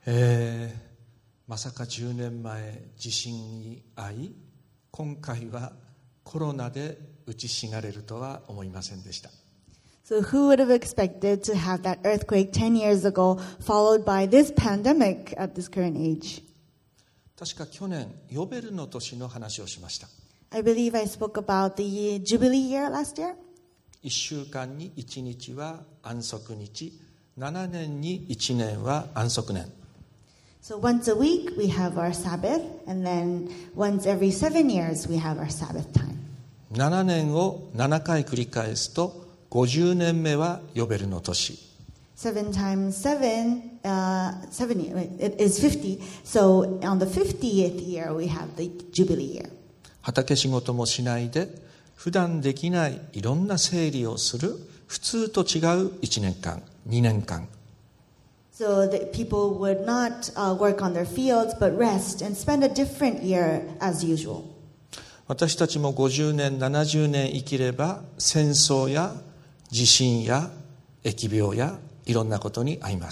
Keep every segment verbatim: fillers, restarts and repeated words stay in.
えー、まさかじゅうねんまえ地震に遭い、今回はコロナで打ちひしがれるとは思いませんでした。 So who would have expected to have that earthquake ten years ago, followed by this pandemic at this current age? 確か去年ヨベルの年の話をしました。 I believe I spoke about the Jubilee year last year. いっしゅうかんにいちにちは安息日、ななねんにいちねんは安息年。 So once a week we have our Sabbath, and then once every seven years we have our Sabbath time. ななねんをななかい繰り返すとごじゅうねんめはヨベルの年。 Seven times seven, uh, seventy, it is fifty. So on the fiftieth year we have the Jubilee year. 畑仕事もしないで普段できないいろんな整理をする普通と違ういちねんかん、にねんかん。 So that people would not uh, work on their fields but rest and spend a different year as usual. 私たちもごじゅうねん、ななじゅうねん生きれば戦争や地震や疫病やいろんなことに遭います。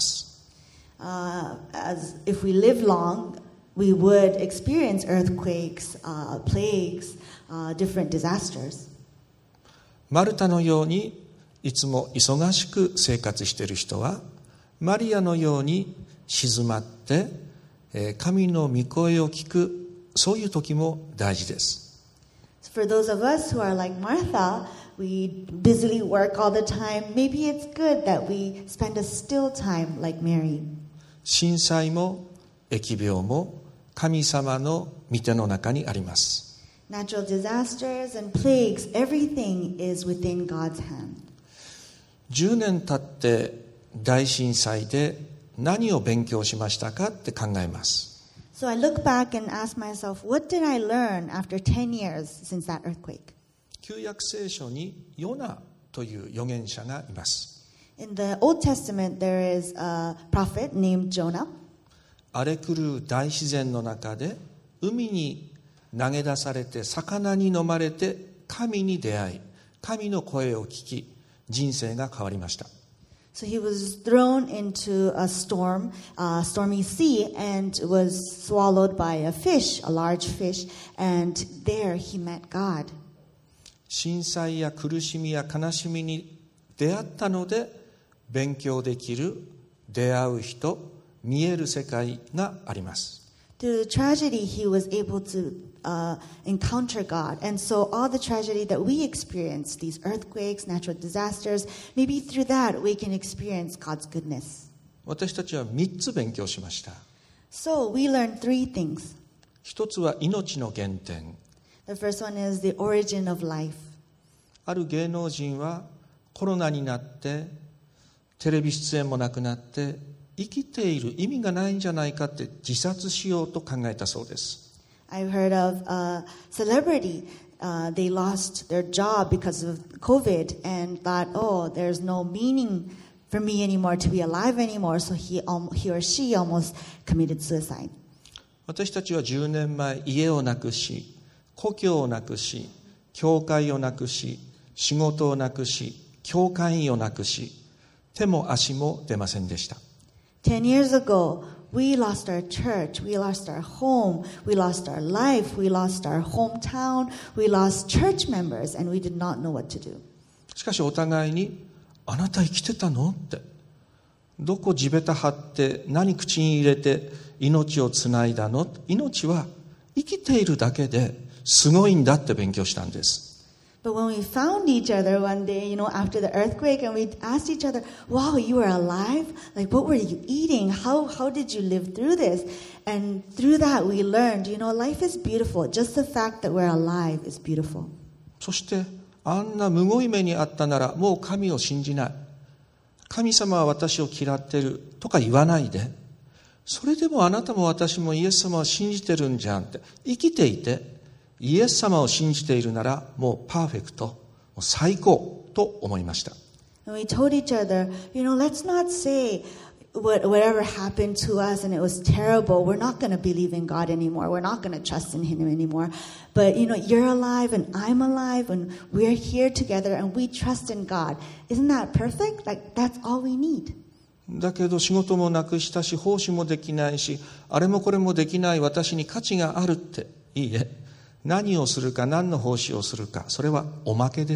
Uh, as if we live long, we would experience earthquakes, uh, plagues, uh, different disasters. マルタのようにいつも忙しく生活している人は、マリアのように静まって神の御声を聞く、そういう時も大事です。 For those of us who are like Martha, we busily work all the time. Maybe it's good that we spend a still time like Mary. 震災も疫病も神様の御手の中にあります。 Natural disasters and plagues, everything is within God's hand. じゅうねん経って大震災で何を勉強しましたかって考えます。 So I look back and ask myself, what did I learn after ten years since that earthquake? 旧約聖書にヨナという預言者がいます。 In the Old Testament, there is a prophet named Jonah. 荒れ狂う大自然の中で海に投げ出されて魚に飲まれて神に出会い、神の声を聞き、人生が変わりました。 So he was thrown into a storm, a stormy sea, and was swallowed by a fish, a large fish, and there he met God. 震災や苦しみや悲しみに出会ったので勉強できる、出会う人、見える世界があります。 Through the tragedy, he was able to uh, encounter God. And so all the tragedy that we experience, these earthquakes, natural disasters, maybe through that we can experience God's goodness. 私たちはみっつ勉強しました。 So we learned three things. 一つは命の原点。 The first one is the origin of life. ある芸能人はコロナになってテレビ出演もなくなって生きている意味がないんじゃないかって自殺しようと考えたそうです。 I've heard of a celebrity. Uh, they lost their job because of COVID and thought, oh, there's no meaning for me anymore to be alive anymore. So he, um, he or she almost committed suicide. 私たちはじゅうねんまえ家をなくし、故郷をなくし、教会をなくし、仕事をなくし、教会員をなくし、手も足も出ませんでした。 Ten years ago, we lost our church, we lost our home, we lost our life, we lost our hometown, we lost church members, and we did not know what to do. しかしお互いに、あなた生きてたのって、どこ地べた張って何口に入れて命をつないだの？命は生きているだけですごいんだって勉強したんです。 But when we found each other one day, you know, after the earthquake, and we asked each other, wow, you were alive? Like, what were you eating? How, how did you live through this? And through that, we learned, you know, life is beautiful. Just the fact that we're alive is beautiful. そして、あんなむごい目にあったなら、もう神を信じない。神様は私を嫌ってるとか言わないで、それでもあなたも私もイエス様を信じてるんじゃんって、生きていて、イエス様を信じているならもうパーフェクト、もう最高と思いました。 And we told each other, you know, let's not say what, whatever happened to us and it was terrible. We're not going to believe in God anymore. We're not going to trust in Him anymore. But, you know, you're alive and I'm alive and we're here together and we trust in God. Isn't that perfect? Like, that's all we need. だけど仕事もなくしたし、奉仕もできないし、あれもこれもできない私に価値があるって。いいえ。何をするか、何の奉仕をするか、それはおまけです。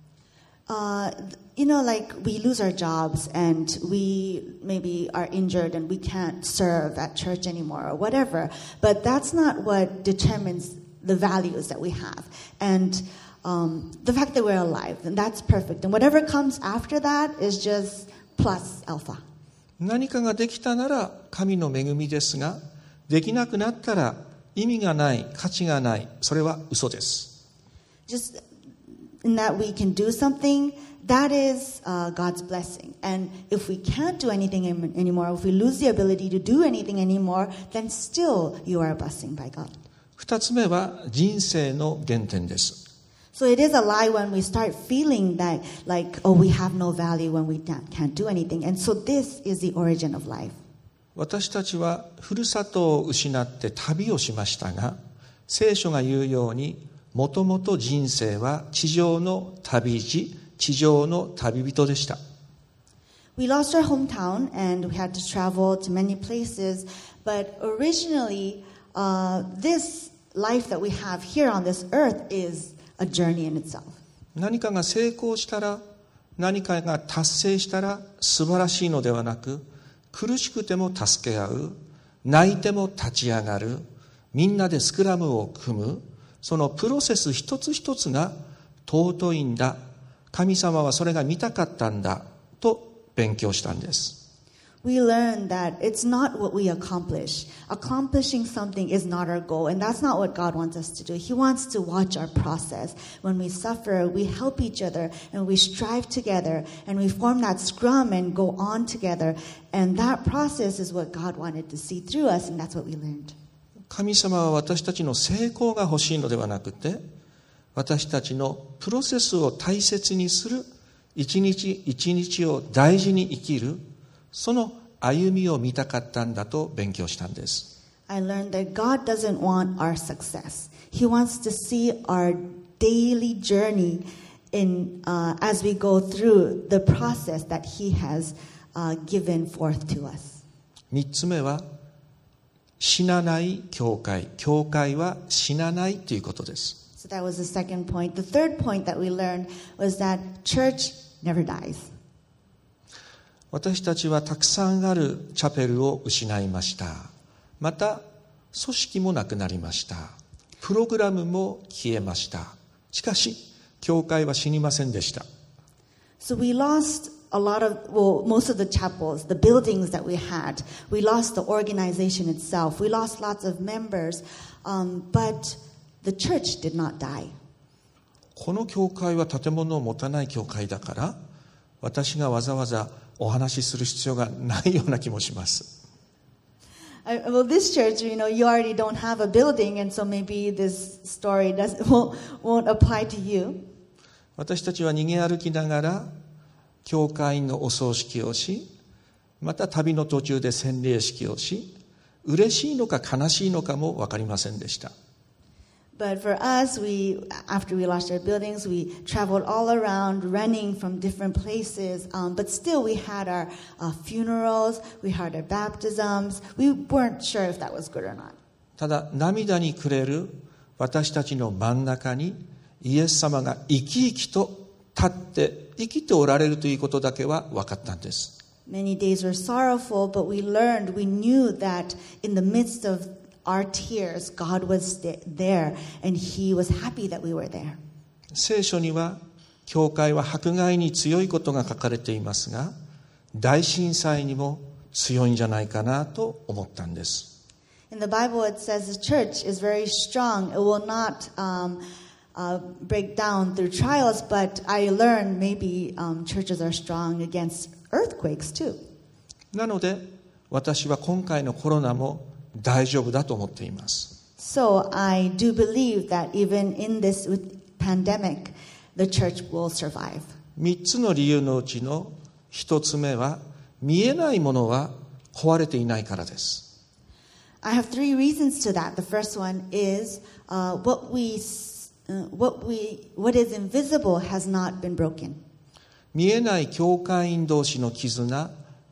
Uh, you know, like we lose our jobs and we maybe are injured and we can't serve at church anymore or whatever. But that's not what determines the values that we have. And um, the fact that we're alive, and that's perfect. And whatever comes after that is just plus alpha. 何かができたなら神の恵みですが、できなくなったら意味がない、価値がない、それは嘘です。 Just in that we can do something, that is uh, God's blessing. And if we can't do anything em- anymore, if we lose the ability to do anything anymore, then still you are a blessing by God. 二つ目は人生の原点です。 So it is a lie when we start feeling that, like, oh, we have no value when we can't do anything. And so this is the origin of life. 私たちはふるさとを失って旅をしましたが、聖書が言うように、もともと人生は地上の旅路、地上の旅人でした。 We lost our hometown and we had to travel to many places, but originally, uh, this life that we have here on this earth is a journey in itself. 何かが成功したら、何かが達成したら素晴らしいのではなく、苦しくても助け合う、泣いても立ち上がる、みんなでスクラムを組む、そのプロセス一つ一つが尊いんだ、神様はそれが見たかったんだと勉強したんです。 We learn that it's not what we accomplish. Accomplishing something is not our goal, and that's not what God wants us to do. He wants to watch our process. When we suffer, we help each other, and we strive together, and we form that scrum and go on together. And that process is what God wanted to see through us, and that's what we learned. 神様は私たちの成功が欲しいのではなくて、私たちのプロセスを大切にする、一日一日を大事に生きる、その歩みを見たかったんだと勉強したんです。 I learned that God doesn't want our success. He wants to see our daily journey in, uh, as we go through the process that He has uh, given forth to us. 三つ目は、死なない教会。教会は死なないということです。 So that was the second point. The third point that we learned was that church never dies. 私たちはたくさんあるチャペルを失いました。また、組織もなくなりました。プログラムも消えました。しかし、教会は死にませんでした。 So we lost a lot of, well, most of the chapels, the buildings that we had. We lost the organization itself. We lost lots of members. Um, but the church did not die. この教会は建物を持たない教会だから、私がわざわざお話しする必要がないような気もします。 I, well, this church, you know, you already don't have a building, and so maybe this story does, won't, won't apply to you. 私たちは逃げ歩きながら、教会員のお葬式をし、また旅の途中で洗礼式をし、嬉しいのか悲しいのかも分かりませんでした。 But for us, we, after we lost our buildings, we traveled all around, running from different places. Um, but still, we had our uh, funerals, we had our baptisms. We weren't sure if that was good or not. ただ、涙に暮れる私たちの真ん中に、イエス様が生き生きと立って生きておられるということだけは分かったんです。 Many days were sorrowful, but we learned, we knew that in the midst of our tears, God was there, and He was happy that we were there. 聖書には、教会は迫害に強いことが書かれていますが、大震災にも強いんじゃないかなと思ったんです。 In the Bible, it says the church is very strong. It will not um, uh, break down through trials, but I learned maybe um, churches are strong against earthquakes too. なので、私は今回のコロナも大丈夫だと思っています。 So I do believe that even in this pandemic, the church will survive. 三つの理由のうちの一つ目は、見えないものは壊れていないからです。 I have three reasons to that. The first one is uh, what we, uh, what we, what is invisible has not been broken. 見えない教会員同士の絆、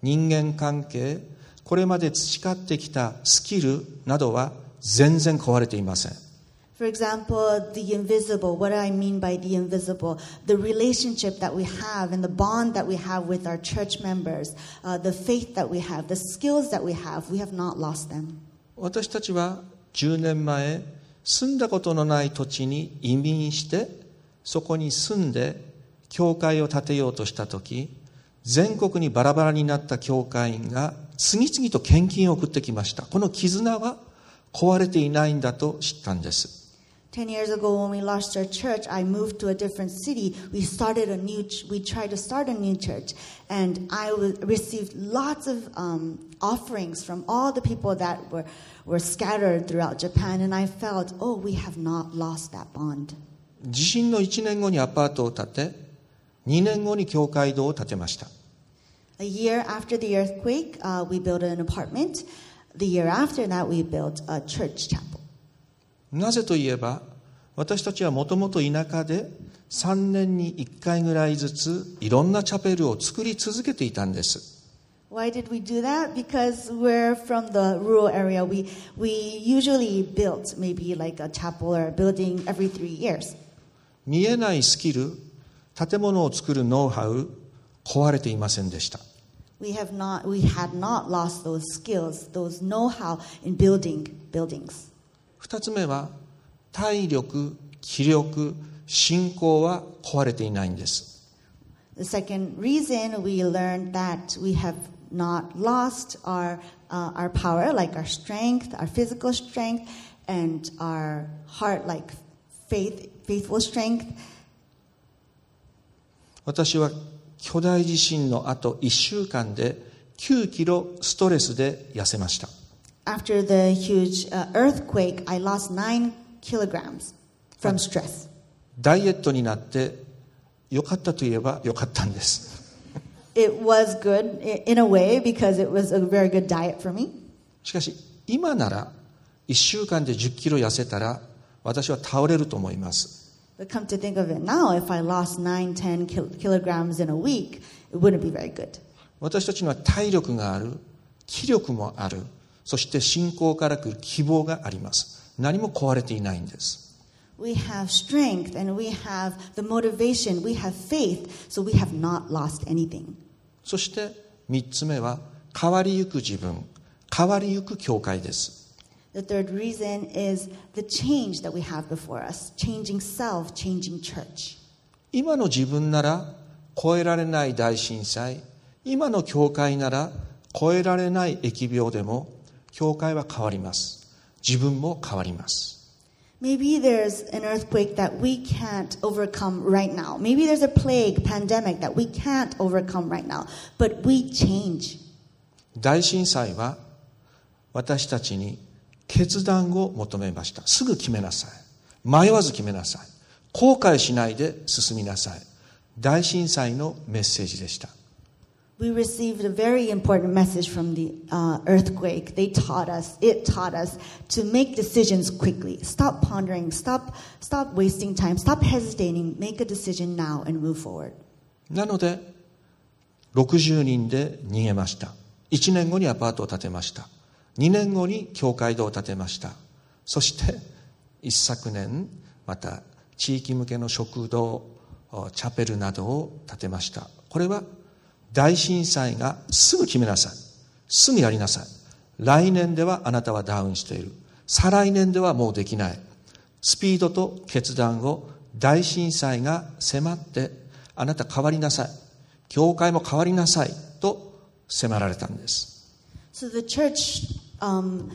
人間関係、これまで培ってきたスキルなどは全然壊れていません。 For example, the invisible. What do I mean by the invisible? The relationship that we have and the bond that we have with our church members, uh, the faith that we have, the skills that we have, we have not lost them. 私たちはじゅうねんまえ、住んだことのない土地に移民して、そこに住んで教会を建てようとしたとき、全国にバラバラになった教会員が次々と献金を送ってきました。この絆は壊れていないんだと知ったんです。 Ten years ago, when we lost our church, I moved to a different city. We started a new. Ch- we tried to start a new church, and I w- received lots of um, offerings from all the people that were were scattered throughout Japan. And I felt, oh, we have not lost that bond. 地震のいちねんごにアパートを建て、にねんごに教会堂を建てました。 A year after the earthquake, uh, we built an apartment. The year after that, we built a church chapel. なぜといえば、私たちはもともと田舎でさんねんにいっかいぐらいずついろんなチャペルを作り続けていたんです。 Why did we do that? Because we're from the rural area. We we usually built maybe like a chapel or a building every three years. 見えないスキル、建物を作るノウハウ、壊れていませんでした。 We have not, we had not lost those skills, those know-how in building buildings. 二つ目は、体力、気力、信仰は壊れていないんです。 The second reason we learned that we have not lost our uh, our power, like our strength, our physical strength, and our heart, like faith, faithful strength. 私は巨大地震の後いっしゅうかんできゅうキロストレスで痩せました。 After the huge uh, earthquake, I lost nine kilograms from stress. ダイエットになって良かったといえば良かったんです。 It was good in a way because it was a very good diet for me. しかし今ならいっしゅうかんでじゅっキロ痩せたら私は倒れると思います。 But come to think of it now, if I lost nine, ten kil- kilograms in a week, it wouldn't be very good. 私たちには体力がある、気力もある、そして信仰から来る希望があります。何も壊れていないんです。 We have strength and we have the motivation, we have faith, so we have not lost anything. そして三つ目は変わりゆく自分、変わりゆく教会です。 The third reason is the change that we have before us, changing self, changing church. 今の自分なら超えられない大震災、今の教会なら超えられない疫病でも教会は変わります。自分も変わります。 Maybe there's an earthquake that we can't overcome right now. Maybe there's a plague, pandemic that we can't overcome right now. But we change. 大震災は私たちに決断を求めました。すぐ決めなさい。迷わず決めなさい。後悔しないで進みなさい。大震災のメッセージでした。 We received a very important message from the uh, earthquake. They taught us, it taught us to make decisions quickly. Stop pondering, stop, stop wasting time, stop hesitating, make a decision now and move forward. なので、ろくじゅうにんで逃げました。いちねんごにアパートを建てました。にねんごに教会堂を建てました。そして一昨年また地域向けの食堂、チャペルなどを建てました。これは大震災がすぐ決めなさい。すぐやりなさい。来年ではあなたはダウンしている。再来年ではもうできない。スピードと決断を大震災が迫ってあなた変わりなさい。教会も変わりなさいと迫られたんです。 So the church um,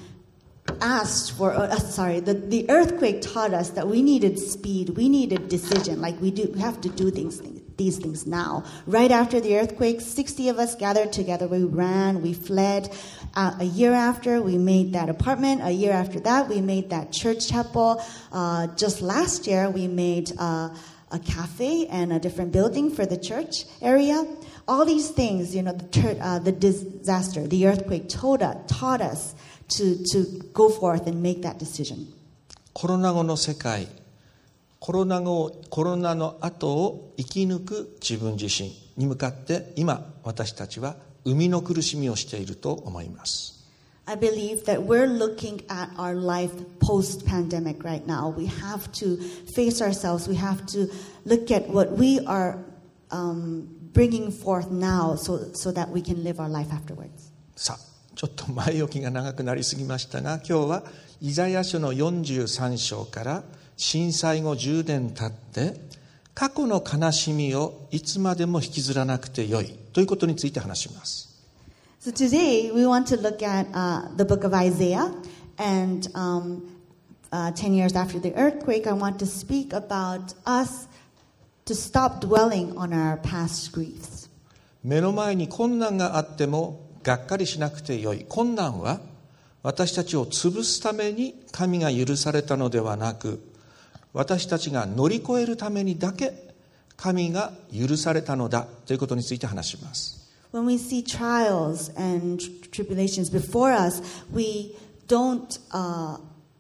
asked for, uh, sorry, the, the earthquake taught us that we needed speed, we needed decision, like we do, we have to do things, these things now. Right after the earthquake, sixty of us gathered together, we ran, we fled. Uh, a year after, we made that apartment. A year after that, we made that church chapel. Uh, just last year, we made uh, a cafe and a different building for the church area. All these things, you know, the, uh, the disaster, the earthquake taught us, taught us to, to go forth and make that decision. コロナ後の世界、コロナ後、コロナの後を生き抜く自分自身に向かって今私たちは生みの苦しみをしていると思います。 I believe that we're looking at our life post-pandemic right now. We have to face ourselves. We have to look at what we are um, bringing forth now so, so that we can live our life afterwards. さあ、ちょっと前置きが長くなりすぎましたが、今日はイザヤ書のよんじゅうさん章から震災後じゅうねん経って過去の悲しみをいつまでも引きずらなくてよいということについて話します。 So today we want to look at uh, the book of Isaiah, and um, uh, ten years after the earthquake, I want to speak about us to stop dwelling on our past griefs. 目の前に困難があってもがっかりしなくてよい。困難は私たちを潰すために神が許されたのではなく、私たちが乗り越えるためにだけ神が許されたのだということについて話します。 When we see trials and tribulations before us, we don't uh,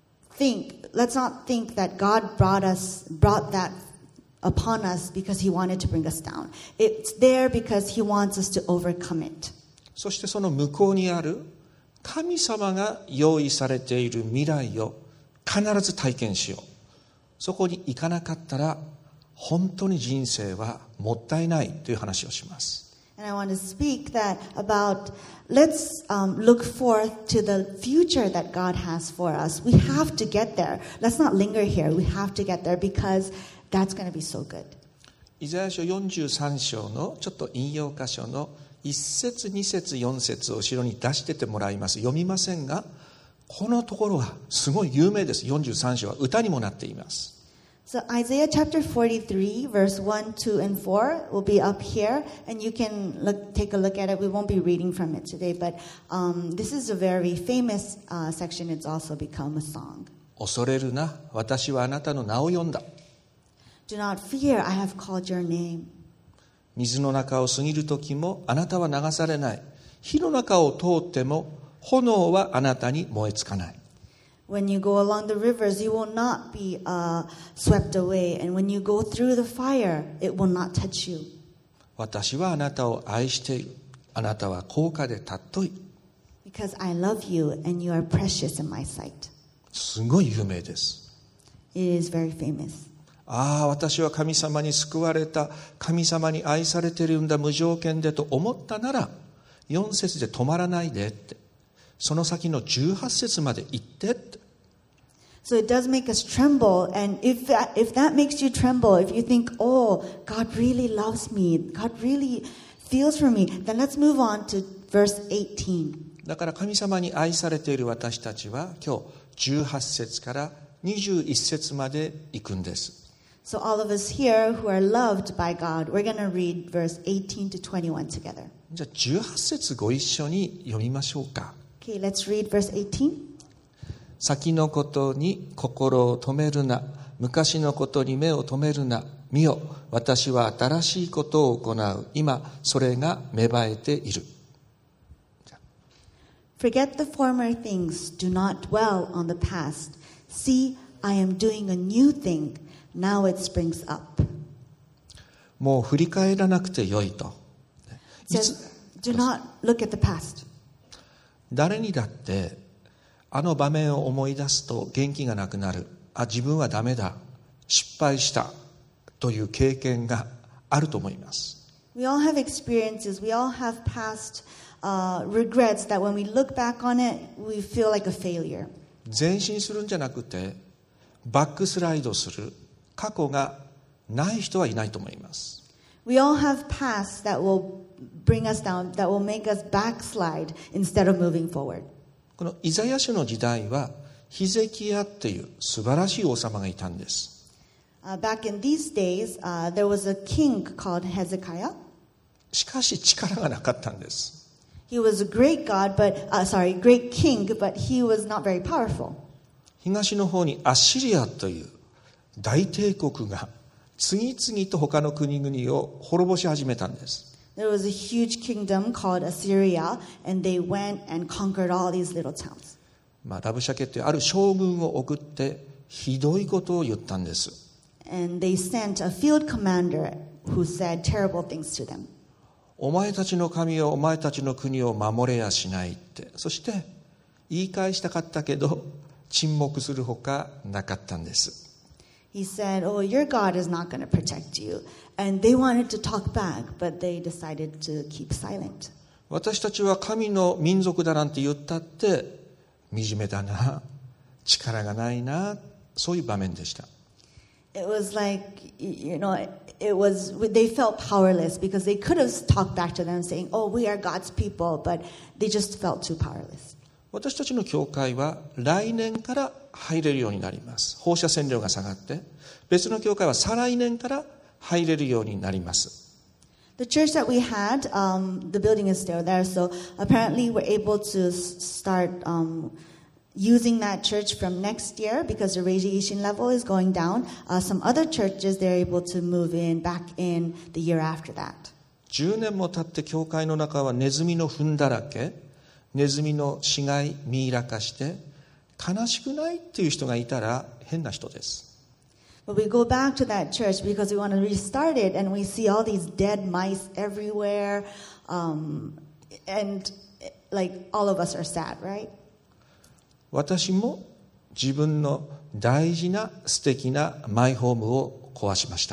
think, let's not think that God brought us, brought that upon us because He wanted to bring us down. It's there because He wants us to overcome it. そしてその向こうにある神様が用意されている未来を必ず体験しよう。そこに行かなかったら本当に人生はもったいないという話をします。 And I want to speak that about, let's um, look forth to the future that God has for us. We have to get there. Let's not linger here. We have to get there because that's going to be so good. イザヤ書よんじゅうさん章のちょっと引用箇所のいち節に節よん節を後ろに出しててもらいます。読みませんが、このところはすごい有名です。よんじゅうさん章は歌にもなっています。 So Isaiah chapter forty-three, verse one, two, and four will be up here, and you can look, take a look at it. We won't be reading from it today, but um, this is a very famous uh, section. It's also become a song. 恐れるな、私はあなたの名を呼んだ。 Do not fear, I have called your name. 水の中を過ぎる時もあなたは流されない。火の中を通っても炎はあなたに燃えつかない。 When you go along the rivers, you will not be uh, swept away. And when you go through the fire, it will not touch you. 私はあなたを愛している。あなたは高価で尊い。 Because I love you and you are precious in my sight. すごい有名です。 It is very famous. ああ、私は神様に救われた。神様に愛されているんだ、無条件でと思ったなら、よん節で止まらないでって。その先のじゅうはち節まで行ってって。 So it does make us tremble, and if that, if that makes you tremble, if you think, oh, God really loves me, God really feels for me, then let's move on to verse eighteen. だから神様に愛されている私たちは今日じゅうはち節からにじゅういち節まで行くんです。 So all of us here who are loved by God, we're going to read verse eighteen to twenty-one together. じゃあじゅうはち節ご一緒に読みましょうか。 Okay, let's read verse eighteen. 先のことに心を止めるな。昔のことに目を止めるな。見よ、私は新しいことを行う。今、それが芽生えている。 Forget the former things. Do not dwell on the past. See, I am doing a new thing. Now it springs up. もう振り返らなくてよいと。 It says, do not look at the past. 誰にだってあの場面を思い出すと元気がなくなる。あ、自分はダメだ。失敗した。という経験があると思います。 We all have experiences. We all have past uh, regrets that when we look back on it, we feel like a failure. 前進するんじゃなくて、バックスライドする過去がない人はいないと思います。 We all have past that will bring us down, that will make us backslide instead of moving forward. このイザヤ書の時代はヒゼキヤっていう素晴らしい王様がいたんです。 Uh, back in these days, uh, there was a king called Hezekiah. しかし力がなかったんです。 He was a great god, but uh, sorry, great king, but he was not very powerful. 東の方にアッシリアという大帝国が次々と他の国々を滅ぼし始めたんです。 There was a huge kingdom called Assyria, and they went and conquered all these little towns. まあ、ラブシャケってある将軍を送ってひどいことを言ったんです。 And they sent a field commander who said terrible things to them. お前たちの神をお前たちの国を守れやしないって、そして言い返したかったけど沈黙するほかなかったんです。 He said, "Oh, your God is not going to protect you." And they wanted to talk back, but they decided to keep silent. 私たちは神の民族だなんて言ったって惨めだな、力がないな、そういう場面でした。 It was like, you know, it was, they felt powerless because they could have talked back to them saying, "Oh, we are God's people," but they just felt too powerless. 私たちの教会は来年から入れるようになります。放射線量が下がって、別の教会は再来年から入れるようになります。 The church that we had, um, the building is still there, so apparently we're able to start um, using that church from next year because the radiation level is going down. Uh, some other churches, they're able to move in back in the year after that. じゅうねんも経って教会の中はネズミの糞だらけ、ネズミの死骸ミイラ化して悲しくないっていう人がいたら変な人です。 But we go back to that church because we want to restart it, and we see all these dead mice everywhere, um, and like all of us are sad, right? 私も自分の大事な素敵なマイホームを壊しました。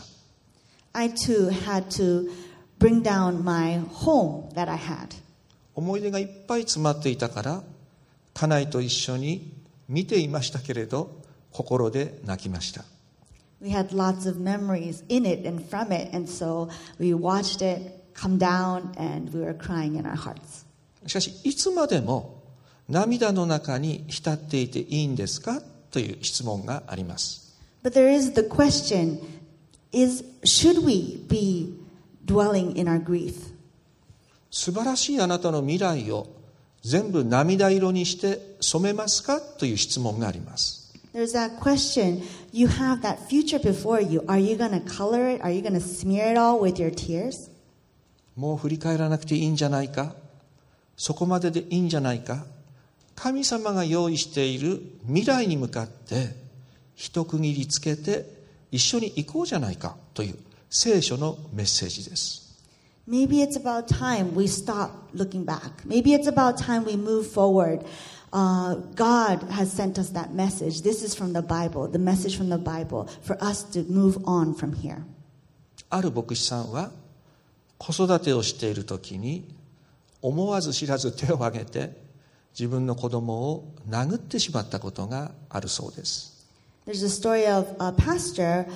I too had to bring down my home that I had. 思い出がいっぱい詰まっていたから、家内と一緒に見ていましたけれど、心で泣きました。 We had lots of memories in it and from it, and so we watched it come down and we were crying in our hearts. しかし、いつまでも涙の中に浸っていていいんですかという質問があります。 But there is the question, is, should we be dwelling in our grief? 素晴らしいあなたの未来を全部涙色にして染めますかという質問があります。 There's that question. You have that future before you. Are you going to color it? Are you going to smear it all with your tears? もう振り返らなくていいんじゃないか、そこまででいいんじゃないか、神様が用意している未来に向かって一区切りつけて一緒に行こうじゃないかという聖書のメッセージです。 Maybe it's about time we stop looking back. Maybe it's about time we move forward. Uh, God has sent us that message. This is from the Bible, the message from the Bible, for us to move on from here. ある牧師さんは子育てをしているときに思わず知らず手を挙げて自分の子供を殴ってしまったことがあるそうです。 There's a story of a pastor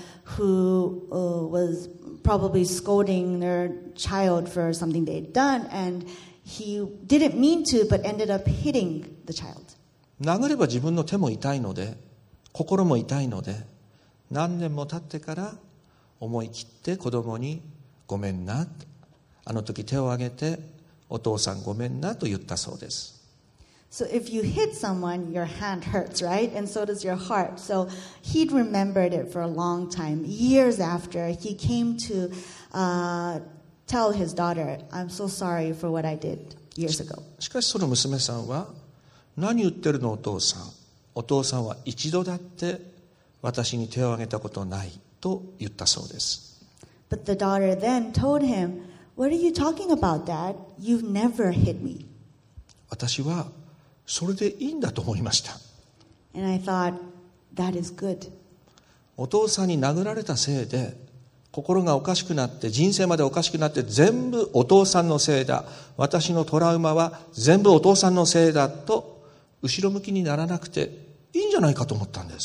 who uh, was probably scolding their child for something they'd done, and he didn't mean to, but ended up hitting the child. 殴れば自分の手も痛いので、心も痛いので、何年も経ってから思い切って子供にごめんな、あの時手を挙げてお父さんごめんなと言ったそうです。 So if you hit someone, your hand hurts, right? And so does your heart. So he'd remembered it for a long time. Years after, he came to uh, tell his daughter, "I'm so sorry for what I did years ago." しかしその娘さんは、何言ってるのお父さん。お父さんは一度だって私に手を挙げたことないと言ったそうです。 But the daughter then told him, "What are you talking about, Dad? You've never hit me." 私はそれでいいんだと思いました。 And I thought, that is good. お父さんに殴られたせいで心がおかしくなって人生までおかしくなって全部お父さんのせいだ、私のトラウマは全部お父さんのせいだと後ろ向きにならなくていいんじゃないかと思ったんです。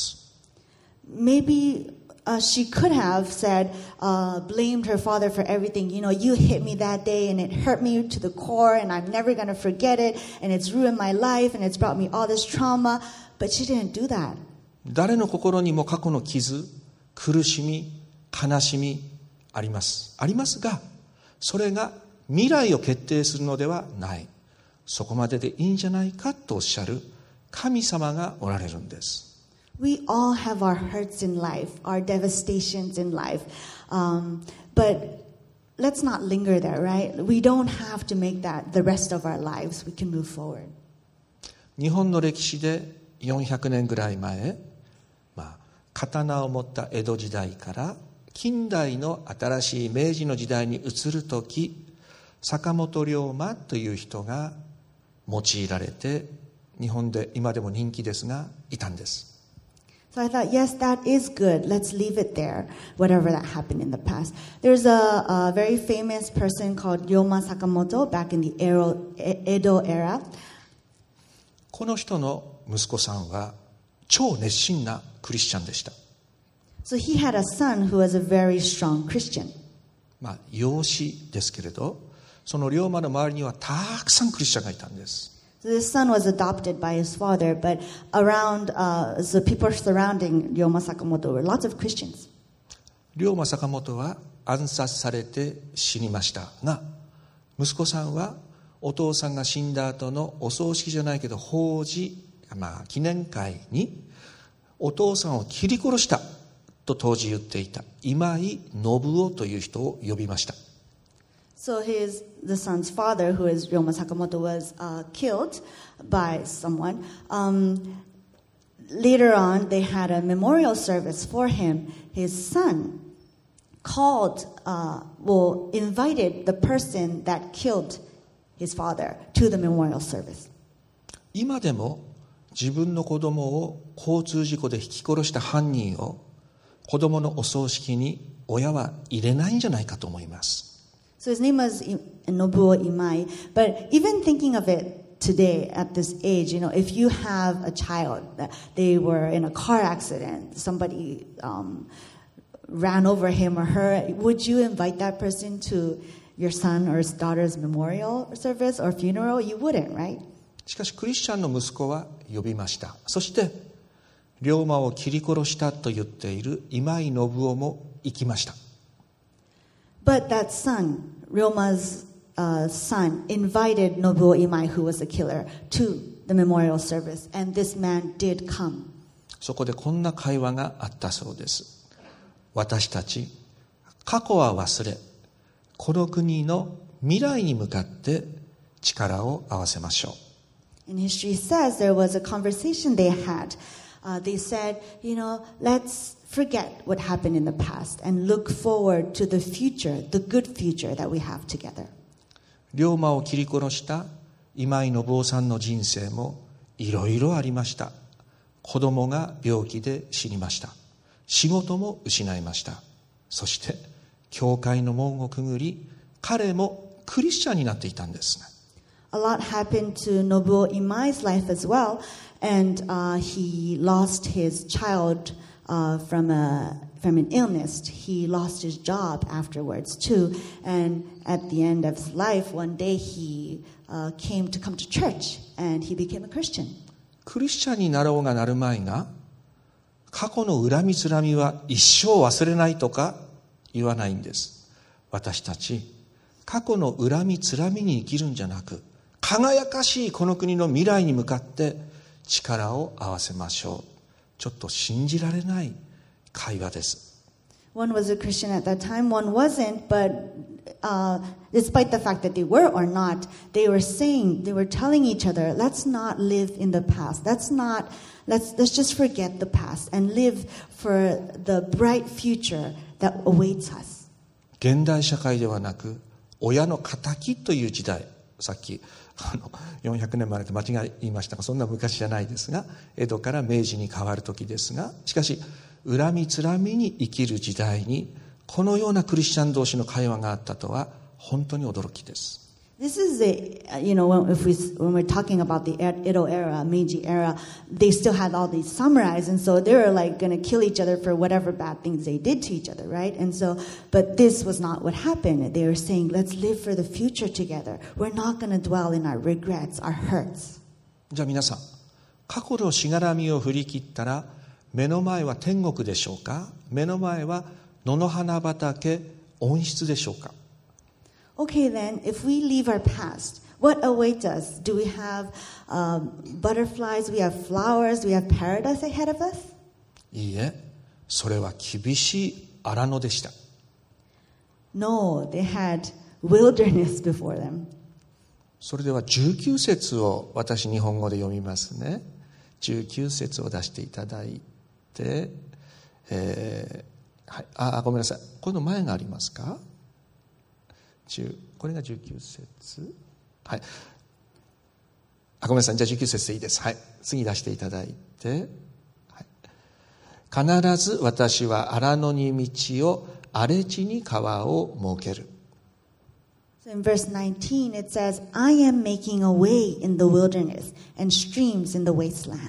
Maybe uh, she could have said, uh, blamed her father for everything. You know, you hit me that day and it hurt me to the core and I'm never going to forget it and it's ruined my life and it's brought me all this trauma. But she didn't do that. 誰の心にも過去の傷、苦しみ、悲しみあります。ありますが、それが未来を決定するのではない。そこまででいいんじゃないかとおっしゃる神様がおられるんです。 We all have our hurts in life, our devastations in life. Um, but let's not linger there, right? We don't have to make that the rest of our lives. We can move forward. 日本の歴史でよんひゃくねんぐらい前、まあ、刀を持った江戸時代から近代の新しい明治の時代に移るとき、 坂本龍馬という人が用いられて、日本で今でも人気ですがいたんです。 So I thought, yes, that is good. Let's leave it there, whatever that happened in the past. There's a, a very famous person called Ryoma Sakamoto back in the Edo era. この人の息子さんは超熱心なクリスチャンでした。 So he had a son who was a very strong Christian. まあ養子ですけれど、その龍馬の周りにはたくさんクリスチャンがいたんです。 So this son was adopted by his father, but around uh, the people surrounding Ryoma Sakamoto were lots of Christians. 龍馬坂本は暗殺されて死にましたが、息子さんはお父さんが死んだ後のお葬式じゃないけど法事、まあ記念会にお父さんを切り殺したと当時言っていた今井信夫という人を呼びました。 So his the son's father, who is Ryoma Sakamoto, was uh, killed by someone. Um, later on, they had a memorial service for him. His son called, uh, well, invited the person that killed his father to the memorial service. 今でも自分の子供を交通事故で引き殺した犯人を子供のお葬式に親は入れないんじゃないかと思います。 So his name was Nobuo Imai. But even thinking of it today at this age, you know, if you have a child, they were in a car accident, somebody um, ran over him or her, would you invite that person to your son or his daughter's memorial service or funeral? You wouldn't, right? しかしクリスチャンの息子は呼びました。そして龍馬を切り殺したと言っている今井信夫も行きました。 But that son, Ryoma's uh, son, invited Nobuo Imai, who was the killer, to the memorial service, and this man did come. そこでこんな会話があったそうです。私たち過去は忘れ、この国の未来に向かって力を合わせましょう。 And history says there was a conversation they had. Uh, they said, you know, let's forget what happened in the past and look forward to the future, the good future that we have together. 龍馬を切り殺した今井信夫さんの人生もいろいろありました。子供が病気で死にました。仕事も失いました。そして教会の門をくぐり、彼もクリスチャンになっていたんですね。 A lot happened to Nobuo Imai's life as well, and uh, he lost his child uh, from a from an illness. He lost his job afterwards too, and at the end of his life, one day he uh, came to come to church, and he became a Christian. クリスチャンになろうがなるまいが、過去の恨みつらみは一生忘れないとか言わないんです。私たち過去の恨みつらみに生きるんじゃなく、輝かしいこの国の未来に向かって力を合わせましょう。ちょっと信じられない会話です。 One was a Christian at that time, one wasn't, but uh, despite the fact that they were or not, they were saying, they were telling each other, let's not live in the past. Let's not, let's, let's just forget the past and live for the bright future that awaits us. 現代社会ではなく、親の敵という時代、さっきあのよんひゃくねんまでと間違いましたが、そんな昔じゃないですが、江戸から明治に変わる時ですが、しかし恨みつらみに生きる時代にこのようなクリスチャン同士の会話があったとは本当に驚きです。 This is the, you know, when, if we, when we're talking about the Edo era, Meiji era, they still had all these samurais, and so they were like going to kill each other for whatever bad things they did to each other, right? And so, but this was not what happened. They were saying, let's live for the future together. We're not going to dwell in our regrets, our hurts. じゃあ皆さん、過去のしがらみを振り切ったら、目の前は天国でしょうか？目の前は野の花畑、温室でしょうか ？Okay, then, if we leave our past, what awaits us? Do we have um, butterflies? We have flowers? We have paradise ahead of us? いいえ、それは厳しい荒野でした。 No, they had wilderness before them. それではじゅうきゅう節を私日本語で読みますね。じゅうきゅう節を出していただいて、えーはい、あ、ごめんなさい。この前がありますか？ これがじゅうきゅう節、はい、あごめんなさい、じゃあじゅうきゅう節でいいです。はい、次出していただいて、はい、必ず私は荒野に道を、荒れ地に川を設ける。 So in verse nineteen it says, I am making a way in the wilderness and streams in the wasteland.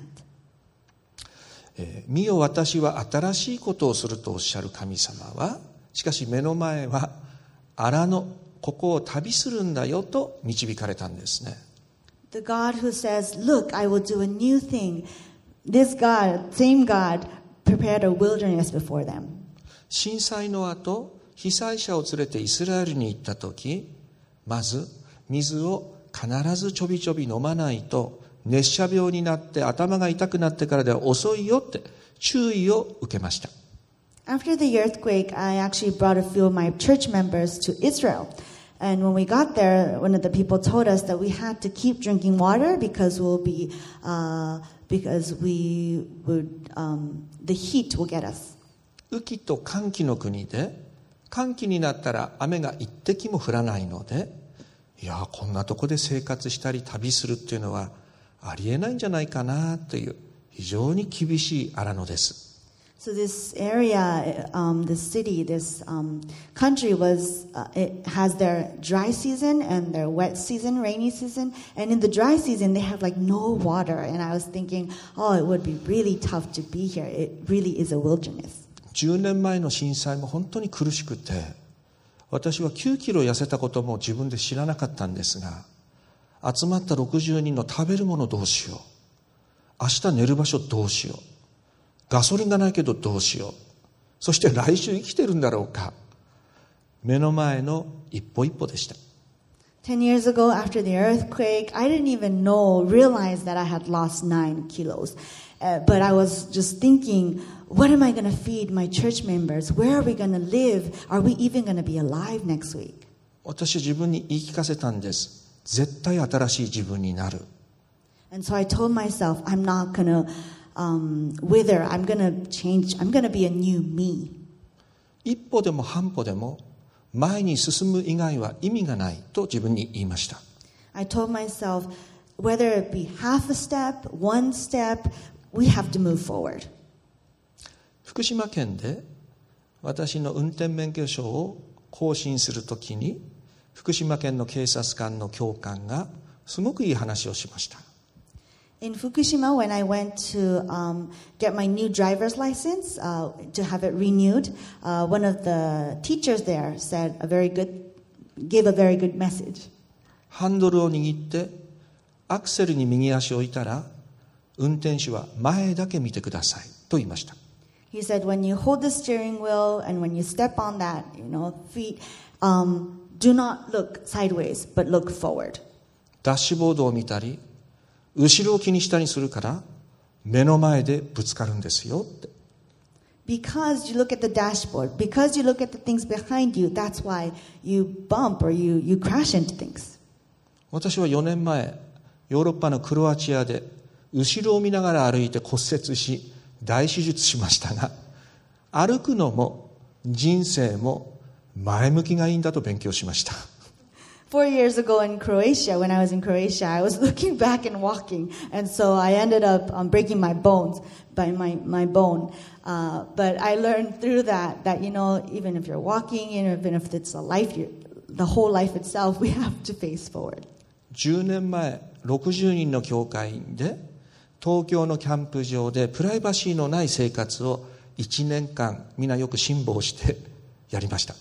見よ私は新しいことをするとおっしゃる神様は、しかし目の前は荒野、ここを旅するんだよと導かれたんですね。 The God who says, Look, I will do a new thing. This God, same God, prepared a wilderness before them. 震災の後、被災者を連れてイスラエルに行ったとき、まず水を必ずちょびちょび飲まないと熱射病になって頭が痛くなってからでは遅いよって注意を受けました。 After the earthquake, I actually brought a few of my church members to Israel. And when we got there, one of the people told us that we had to keep drinking water because we'll be, uh, because we would, um, the heat will get us. 雨季と乾季の国で、乾季になったら雨が一滴も降らないので、いやこんなとこで生活したり旅するっていうのはありえないんじゃないかなという非常に厳しい荒野です。 So this area, um, this city, this um, country was, uh, it has their dry season and their wet season, rainy season. And in the dry season, they have like no water. And I was thinking, oh, it would be really tough to be here. It really is a wilderness. じゅうねんまえの震災も本当に苦しくて、私はきゅうキロ痩せたことも自分で知らなかったんですが、集まったろくじゅうにんの食べるものどうしよう、明日寝る場所どうしよう、ガソリンがないけどどうしよう、そして来週生きてるんだろうか、目の前の一歩一歩でした。 Ten years ago, after the earthquake, I didn't even know, realize that I had lost nine kilos. Uh, but I was just thinking, what am I going to feed my church members? Where are we going to live? Are we even going to be alive next week? 私は自分に言い聞かせたんです。絶対新しい自分になる。 And so I told myself, I'm not going to um, wither. I'm going to change. I'm going to be a new me. 一歩でも半歩でも前に進む以外は意味がないと自分に言いました。 I told myself, whether it be half a step, one step, we have to move forward. 福島県で私の運転免許証を更新するときに、福島県の警察官の教官がすごくいい話をしました。 In Fukushima, when I went to um, get my new driver's license, uh, to have it renewed, uh, one of the teachers there said a very good, gave a very good message. ハンドルを握ってアクセルに右足を置いたら、運転手は前だけ見てくださいと言いました。 He said, when you hold the steering wheel and when you step on that, you know, feet, um, do not look sideways, but look forward. ダッシュボードを見たり、後ろを気にしたりするから目の前でぶつかるんですよって。 Because you look at the dashboard, because you look at the things behind you, that's why you bump or you, you crash into things. 私はよねんまえ、ヨーロッパのクロアチアで後ろを見ながら歩いて骨折し、大手術しましたが、歩くのも人生も前向きがいいんだと勉強しました。 Four years ago in Croatia, when I was in Croatia, I was looking back and walking, and so I ended up um, breaking my bones, by my, my bone. Uh, but I learned through that, that, you know, even if you're walking, even if it's a life, you, the whole life itself, we have to face forward. じゅうねんまえ、ろくじゅうにんの教会員で、東京のキャンプ場でプライバシーのない生活をいちねんかん、みんなよく辛抱してやりました。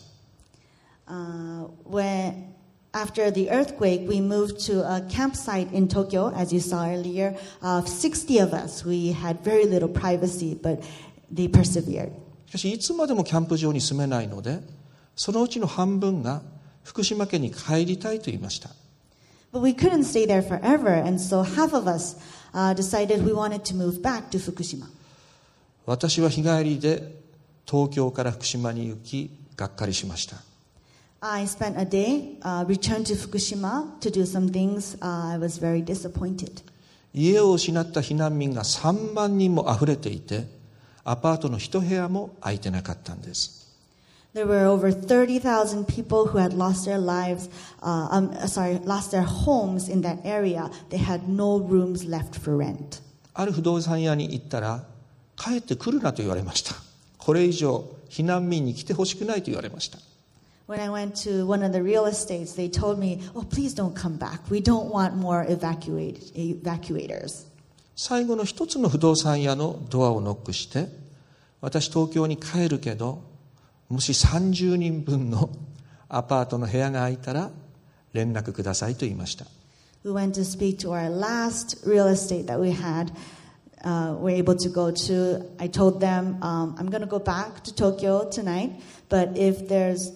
Uh, when After the earthquake, we moved to a campsite in Tokyo, as you saw earlier. Of sixty of us, we had very little privacy, but they persevered. しかしいつまでもキャンプ場に住めないので、そのうちの半分が福島県に帰りたいと言いました。 But we couldn't stay there forever, and so half of us uh, decided we wanted to move back to Fukushima. 私は日帰りで東京から福島に行き、がっかりしました。 I spent a day, uh, returned to Fukushima to do some things. Uh, I was very disappointed. 家を失った避難民がさんまんにんもあふれていて、アパートの一部屋も空いてなかったんです。 There were over thirty thousand people who had lost their lives, uh, um, sorry, lost their homes in that area. They had no rooms left for rent. ある不動産屋に行ったら、帰ってくるなと言われました。これ以上避難民に来てほしくないと言われました。 When I went to one of the real estates, they told me, "Oh, please don't come back. We don't want more evacuate, evacuators." 最後の一つの不動産屋のドアをノックして、私東京に帰るけど、もしさんじゅうにんぶんのアパートの部屋が空いたら連絡くださいと言いました。 We went to speak to our last real estate that we had. Uh, we're able to go to. I told them, um, I'm going to go back to Tokyo tonight, but if there's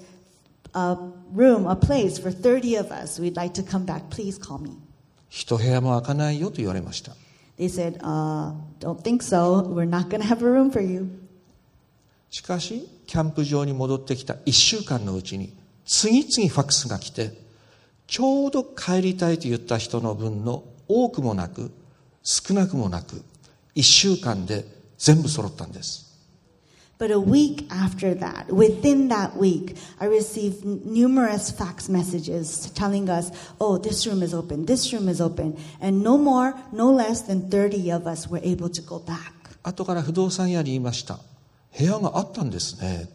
a room, a place for thirty of us, we'd like to come back. Please call me. 一部屋も空かないよと言われました。 They said, uh, don't think so. We're not going to have a room for you. しかし、キャンプ場に戻ってきたいっしゅうかんのうちに、次々ファックスが来て、ちょうど帰りたいと言った人の分の多くもなく、少なくもなく、いっしゅうかんで全部揃ったんです。 But a week after that, within that week, I received numerous fax messages telling us, oh, this room is open, this room is open. And no more, no less than thirty of us were able to go back. 後から不動産屋に言いました。部屋があったんですね。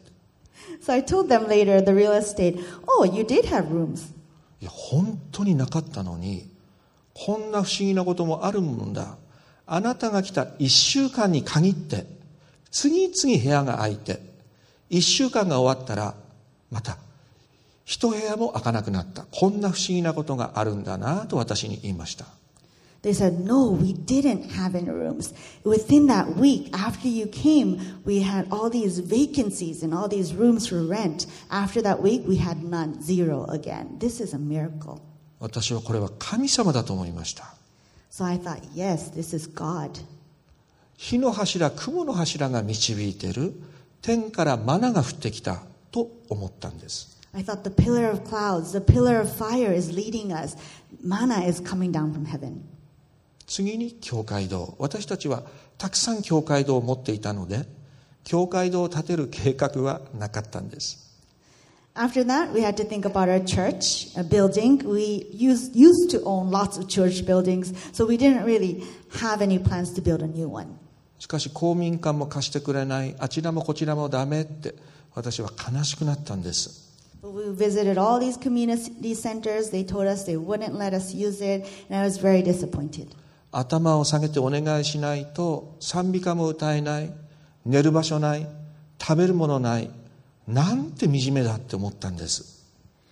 So I told them later, the real estate, oh, you did have rooms. いや、本当になかったのに、こんな不思議なこともあるもんだ。あなたが来たいっしゅうかんに限って、次々部屋が空いて、いっしゅうかんが終わったら、また、一部屋も空かなくなった。こんな不思議なことがあるんだなと私に言いました。 They said, no, we didn't have any rooms. Within that week, after you came, we had all these vacancies and all these rooms for rent. After that week, we had none, zero again. This is a miracle. 私はこれは神様だと思いました。 So I thought, yes, this is God. 火の柱、雲の柱が導いている、天からマナが降ってきたと思ったんです。 I thought the pillar of clouds, the pillar of fire is leading us. Manna is coming down from heaven. 次に教会堂。私たちはたくさん教会堂を持っていたので、教会堂を建てる計画はなかったんです。 After that, we had to think about our church, a building. We used, used to own lots of church buildings, so we didn't really have any plans to build a new one. しかし公民館も貸してくれない、あちらもこちらもダメって私は悲しくなったんです。 We visited all these community centers. They told us they wouldn't let us use it, and I was very disappointed. 頭を下げてお願いしないと賛美歌も歌えない、寝る場所ない、食べるものない、なんて惨めだって思ったんです。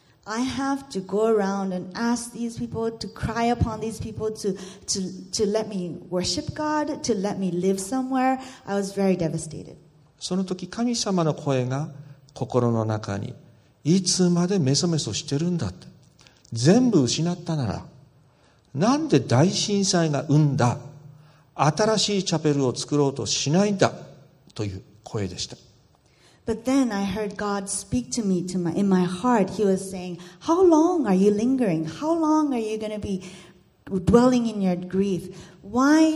I have to go around and ask these people to cry upon these people to, to, to let me worship God, to let me live somewhere. I was very devastated. その時神様の声が心の中に、いつまでメソメソしてるんだって。全部失ったなら、なんで大震災が生んだ新しいチャペルを作ろうとしないんだという声でした。 But then I heard God speak to me to my, in my heart. He was saying, how long are you lingering? How long are you going to be dwelling in your grief? Why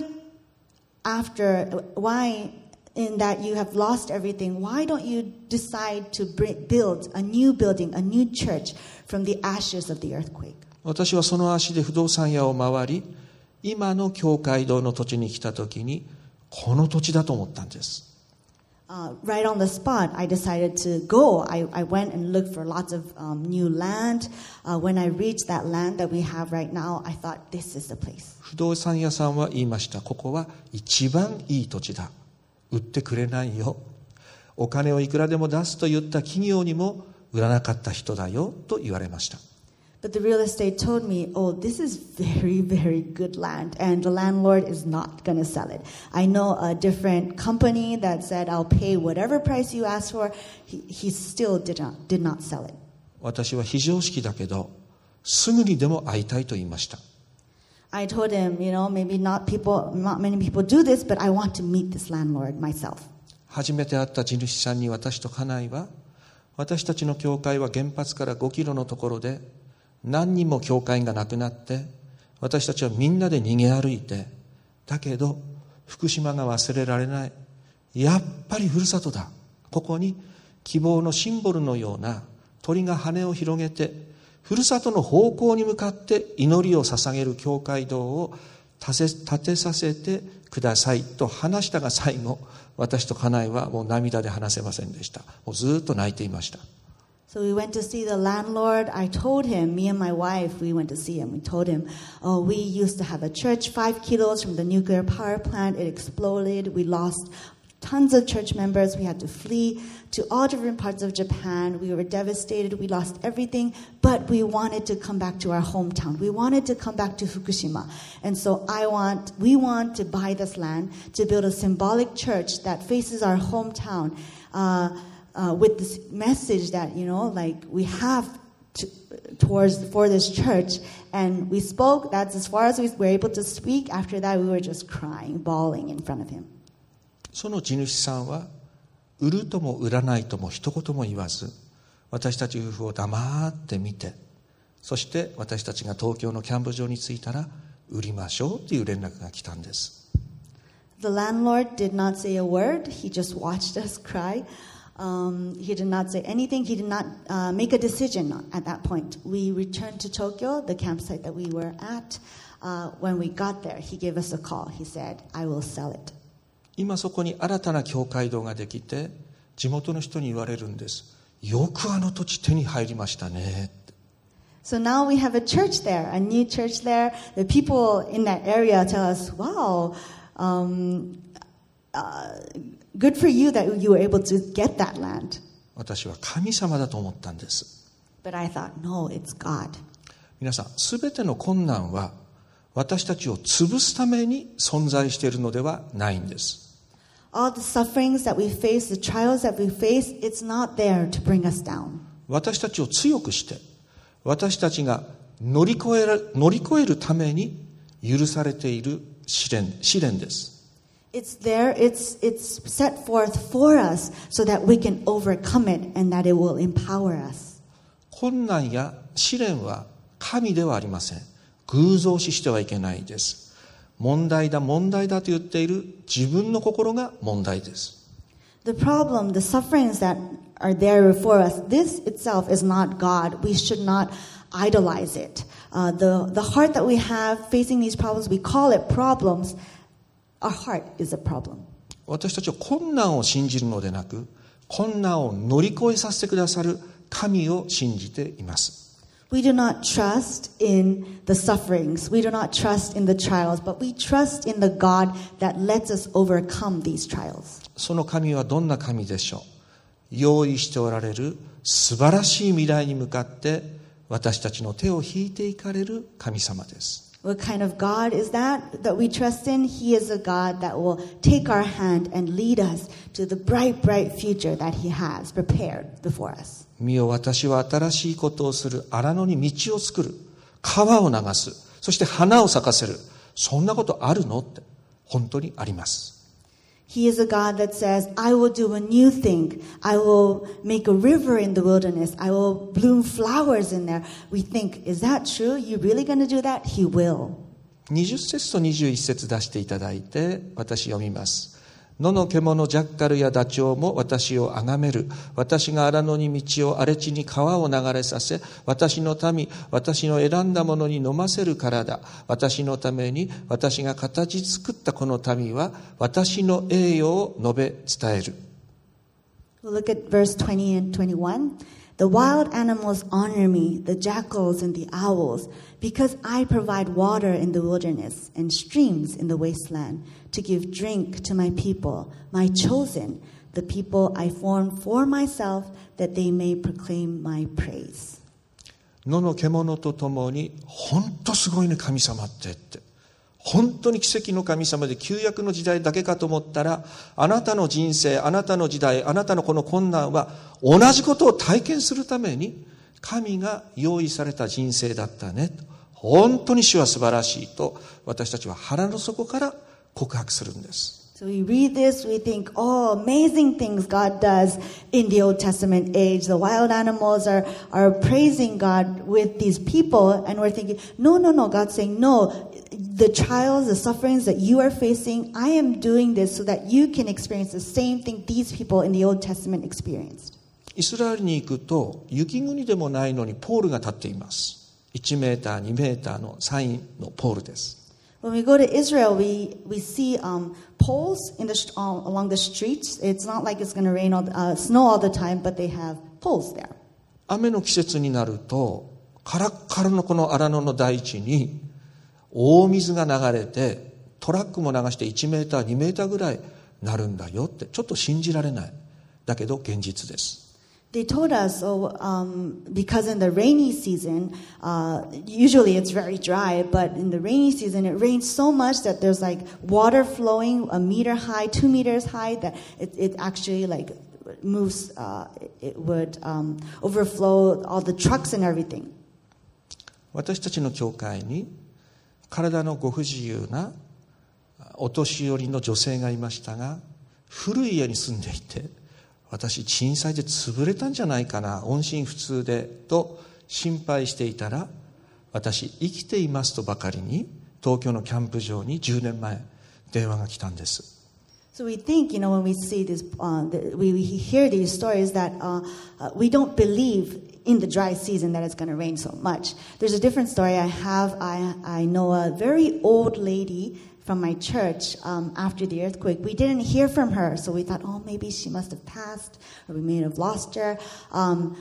after, why in that you have lost everything, why don't you decide to build a new building, a new church from the ashes of the earthquake? 私はその足で不動産屋を回り、今の教会堂の土地に来た時に、この土地だと思ったんです。 Uh, right on the spot, I decided to go. I, I went and looked for lots of um, new land. Uh, when I reached that land that we have right now, I thought, this is the place. 不動産屋さんは言いました。ここは一番いい土地だ。売ってくれないよ。お金をいくらでも出すと言った企業にも売らなかった人だよと言われました。 But the real estate told me, oh, this is very, very good land, and the landlord is not going to sell it. I know a different company that said, I'll pay whatever price you ask for. He, he still did not, did not sell it. 私は非常識だけど、すぐにでも会いたいと言いました。 I told him, you know, maybe not people, not many people do this, but I want to meet this landlord myself. 初めて会った地主さんに私と家内は、私たちの教会は原発からごキロのところで、何人も教会がなくなって、私たちはみんなで逃げ歩いて、だけど福島が忘れられない。やっぱりふるさとだ。ここに希望のシンボルのような鳥が羽を広げてふるさとの方向に向かって祈りを捧げる教会堂を建て、建てさせてくださいと話したが最後、私と家内はもう涙で話せませんでした。もうずっと泣いていました。 So we went to see the landlord. I told him, me and my wife, we went to see him. We told him, oh, we used to have a church five kilos from the nuclear power plant. It exploded. We lost tons of church members. We had to flee to all different parts of Japan. We were devastated. We lost everything. But we wanted to come back to our hometown. We wanted to come back to Fukushima. And so I want, we want to buy this land to build a symbolic church that faces our hometown. Uh, Uh, with this message that, you know, like we have to, towards for this church. And we spoke. That's as far as we were able to speak. After that, we were just crying, bawling in front of him. その地主さんは売るとも売らないとも一言も言わず、私たち夫婦を黙って見て、そして私たちが東京のキャンプ場に着いたら売りましょうという連絡が来たんです。 The landlord did not say a word. He just watched us cry. Um, he did not say anything. He did not uh, make a decision at that point. We returned to Tokyo, the campsite that we were at. Uh, when we got there, he gave us a call. He said, I will sell it. 今そこに新たな教会堂ができて、地元の人に言われるんです。よくあの土地手に入りましたね。 So now we have a church there, a new church there. The people in that area tell us, wow, um, uh, good for you that you were able to get that land. 私は神様だと思ったんです。 But I thought, no, it's God. 皆さん、すべての困難は私たちを潰すために存在しているのではないんです。 All the sufferings that we face, the trials that we face, it's not there to bring us down. 私たちを強くして、私たちが乗り越える、乗り越えるために許されている試練、試練です。 It's there, it's, it's set forth for us so that we can overcome it and that it will empower us. 困難や試練は神ではありません。偶像視してはいけないです。問題だ、問題だと言っている自分の心が問題です。 The problem, the sufferings that are there before us, this itself is not God. We should not idolize it. Uh, the, the heart that we have facing these problems, we call it problems. Our heart is a problem. 私たちは困難を信じるのでなく、困難を乗り越えさせてくださる神を信じています。 We do not trust in the sufferings. We do not trust in the trials, but we trust in the God that lets us overcome these trials. その神はどんな神でしょう。用意しておられる素晴らしい未来に向かって私たちの手を引いていかれる神様です。 What kind of God is that that we trust in? He is a God that will take our hand and lead us to the bright, bright future that He has prepared before us. 見よ、私は新しいことをする。荒野に道を作る。川を流す。そして花を咲かせる。そんなことあるのって、本当にあります。 He is a God that says, I will do a new thing. I will make a river in the wilderness. I will bloom flowers in there. We think, is that true? You really going to do that? He will. にじゅっ節とにじゅういち節出していただいて、私読みます。野の獣ジャッカルやダチョウも私を崇める。私が荒野に道を荒れ地に川を流れさせ、私の民、私の選んだものに飲ませるからだ。私のために私が形作ったこの民は私の栄誉を述べ伝える。 We'll look at verse twenty and twenty-one. The wild animals honor me, the jackals and the owls, because I provide water in the wilderness and streams in the wasteland to give drink to my people, my chosen, the people I formed for myself, that they may proclaim my praise. 野の獣と共に、本当すごいね、神様ってって。本当に奇跡の神様で旧約の時代だけかと思ったら、あなたの人生、あなたの時代、あなたのこの困難は同じことを体験するために神が用意された人生だったね。本当に主は素晴らしいと私たちは腹の底から告白するんです。 So we read this, we think, oh, amazing things God does in the Old Testament age. The wild animals are, are praising God with these people, and we're thinking, no, no, no. God's saying, no, the trials, the sufferings that you are facing, I am doing this so that you can experience the same thing these people in the Old Testament experienced. イスラエルに行くと雪国でもないのにポールが立っています。いちメーター、にメーターのサインのポールです。 When we go to Israel, we, we see um, poles in the, uh, along the streets. It's not like it's going to rain all, uh, snow all the time, but they have poles there. 雨の季節になるとカラッカラのこの荒野の大地に大水が流れてトラックも流していちメーター、にメーターぐらいなるんだよって、ちょっと信じられない。だけど現実です。 They told us, oh, um, because in the rainy season, uh, usually it's very dry, but in the rainy season, it rains so much that there's like water flowing a meter high, two meters high, that it, it actually like moves, uh, it would um, overflow all the trucks and everything. 私たちの教会に体のご不自由なお年寄りの女性がいましたが、古い家に住んでいて、私震災で潰れたんじゃないかな、音信不通でと心配していたら、私生きていますとばかりに東京のキャンプ場にじゅうねんまえ電話が来たんです。 So we think, you know, when we see this, uh, the, we, we hear these stories that uh, uh, we don't believe in the dry season that it's going to rain so much. There's a different story I have. I, I know a very old lady from my church um, after the earthquake. We didn't hear from her, so we thought, oh, maybe she must have passed, or we may have lost her. Um,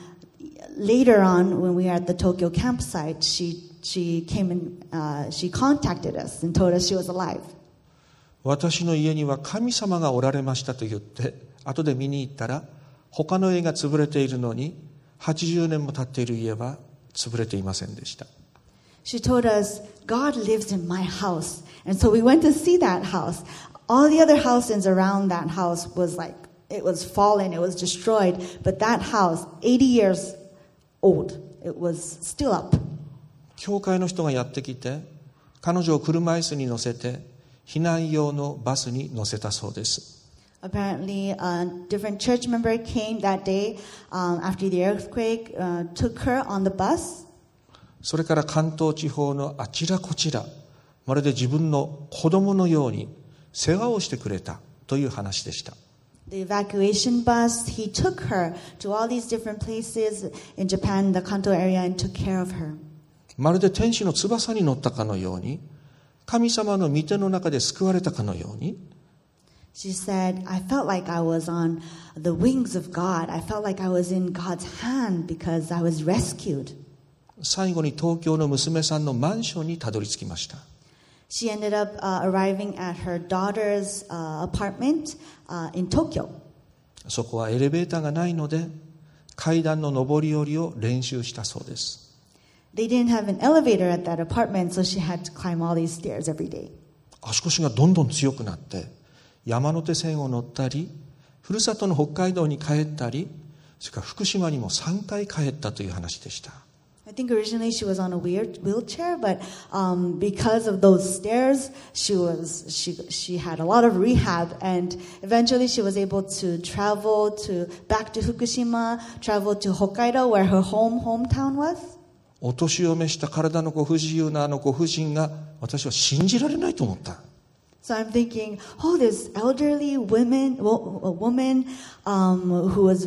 later on, when we were at the Tokyo campsite, she she came and uh, she contacted us and told us she was alive. 私の家には神様がおられましたと言って、後で見に行ったら、他の家が潰れているのに、はちじゅうねんも経っている家は潰れていませんでした。 She told us, God lives in my house. And so we went to see that house. All the other houses around that house was like, it was fallen, it was destroyed. But that house, eighty years old, it was still up. 教会の人がやってきて、彼女を車椅子に乗せて、避難用のバスに乗せたそうです。 Apparently, a different church member came that day um, after the earthquake, uh, took her on the bus. それから関東地方のあちらこちら、まるで自分の子供のように世話をしてくれたという話でした。 The evacuation bus, he took her to all these different places in Japan, the Kanto area, and took care of her. まるで天使の翼に乗ったかのように、神様の御手の中で救われたかのように。 She said, I felt like I was on the wings of God. I felt like I was in God's hand because I was rescued. 最後に東京の娘さんのマンションにたどり着きました。 She ended up uh, arriving at her daughter's uh, apartment uh, in Tokyo. そこはエレベーターがないので、階段の上り下りを練習したそうです。 They didn't have an elevator at that apartment, so she had to climb all these stairs every day. 足腰がどんどん強くなって、山手線を乗ったり、ふるさとの北海道に帰ったり、それから福島にもさんかい帰ったという話でした。 I think originally she was on a wheelchair, but um, because of those stairs, she was she she had a lot of rehab, and eventually she was able to travel to back to Fukushima, travel to Hokkaido, where her home hometown was. お年を召した体のご不自由なあのご婦人が私は信じられないと思った。 So I'm thinking, oh, this elderly woman, a woman um, who was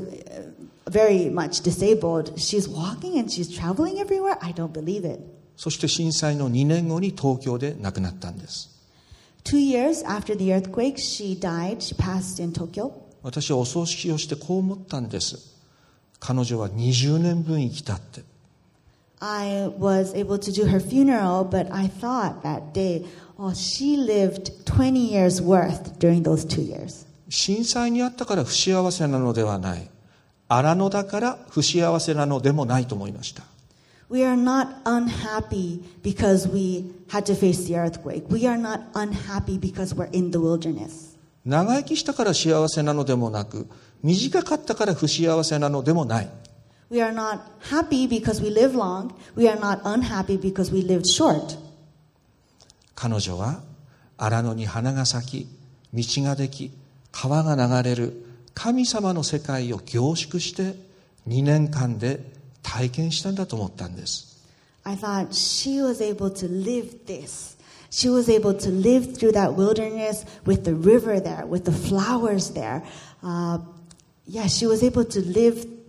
very much disabled. She's walking and she's traveling everywhere. I don't believe it. そして震災のにねんごに東京で亡くなったんです。 Two years after the earthquake, she died. She passed in Tokyo. 私はお葬式をしてこう思ったんです。彼女はにじゅうねんぶん生きたって。 I was able to do her funeral, but I thought that day, oh, she lived twenty years worth during those two years. 震災にあったから不幸せなのではない。荒野だから不幸せなのでもないと思いました。 We are not unhappy because we had to face the earthquake. We are not unhappy because we're in the wilderness. 長生きしたから幸せなのでもなく、短かったから不幸せなのでもない。 We are not happy because we live long. We are not unhappy because we lived short. 彼女は荒野に花が咲き、道ができ、川が流れる神様の世界を凝縮してにねんかんで体験したんだと思ったんです。 I thought she was able to live this. She was able to live through that wilderness with the river there, with the flowers there. Uh, yeah, she was able to live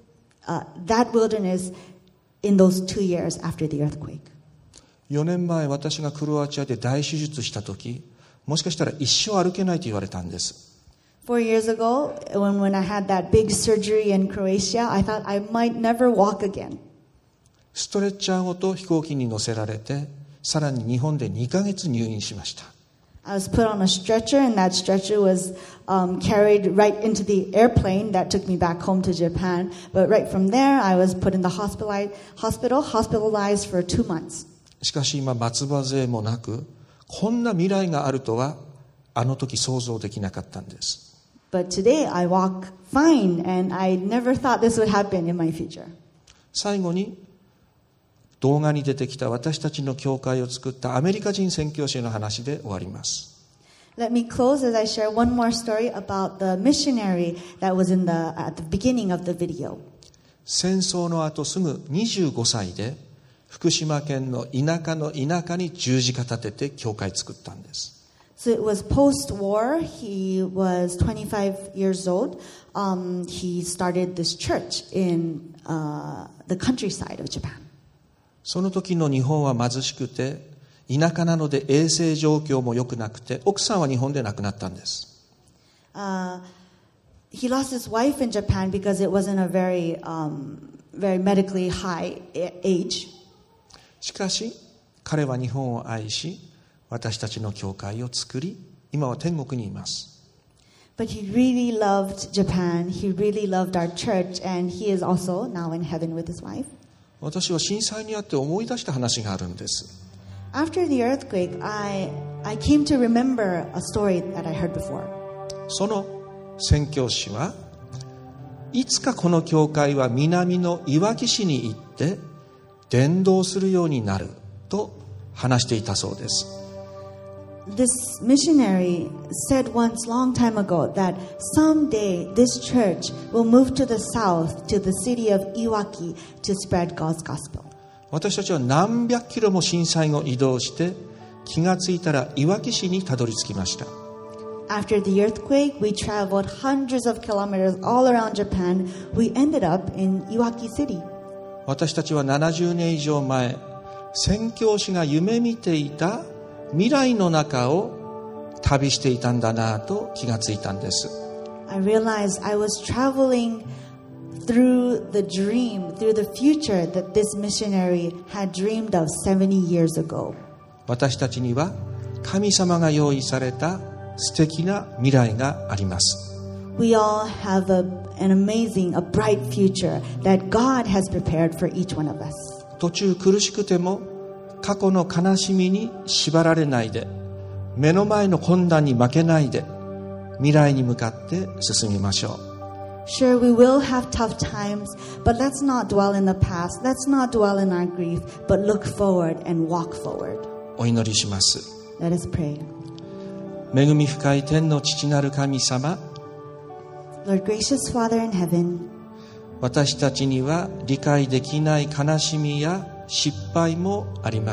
uh, that wilderness in those two years after the earthquake. よねんまえ私がクロアチアで大手術した時、もしかしたら一生歩けないと言われたんです。 Four years ago, when, when I had that big surgery in Croatia, I thought I might never walk again. ストレッチャーごと飛行機に乗せられて、さらに日本でにかげつ入院しました。 I was put on a stretcher, and that stretcher was um, carried right into the airplane that took me back home to Japan. But right from there, I was put in the hospital, hospital hospitalized for two months. しかし今、松葉杖もなく、こんな未来があるとは、あの時想像できなかったんです。 But today I walk fine, and I never thought this would happen in my future. 最後に動画に出てきた私たちの教会を作ったアメリカ人宣教師の話で終わります。 Let me close as I share one more story about the missionary that was in the at the beginning of the video. 戦争の後すぐにじゅうごさいで福島県の田舎の田舎に十字架立てて教会作ったんです。 So it was post-war. He was twenty-five years old. Um, he started this church in uh, the countryside of Japan. その時の日本は貧しくて、田舎なので衛生状況も良くなくて、奥さんは日本で亡くなったんです。 Uh, he lost his wife in Japan because it wasn't a very, um, very medically high age. しかし、彼は日本を愛し、私たちの教会を作り、今は天国にいます。 But he really loved Japan. He really loved our church, and he is also now in heaven with his wife. 私は震災にあって思い出した話があるんです。 After the earthquake, I I came to remember a story that I heard before. その宣教師はいつかこの教会は南のいわき市に行って伝道するようになると話していたそうです。 This missionary said once long time ago that someday this church will move to the south to the city of Iwaki to spread God's gospel. 私たちは何百キロも震災後移動して気がついたらいわき市にたどり着きました。 After the earthquake, we traveled hundreds of kilometers all around Japan. We ended up in Iwaki City. 私たちはななじゅうねん以上前、宣教師が夢見ていた未来の中を旅していたんだなと気がついたんです。 I realized I was traveling through the dream, through the future that this missionary had dreamed of seventy years ago. 私たちには神様が用意された素敵な未来があります。 We all have a, an amazing, a bright future that God has prepared for each one of us. 途中苦しくても過去の悲しみに縛られないで、目の前の困難に負けないで、未来に向かって進みましょう。 Sure, we will have tough times, but let's not dwell in the past. Let's not dwell in our grief, but look forward and walk forward. お祈りします。 Let us pray. 恵み深い天の父なる神様、 Lord, gracious Father in heaven, 私たちには理解できない悲しみや失敗もあります。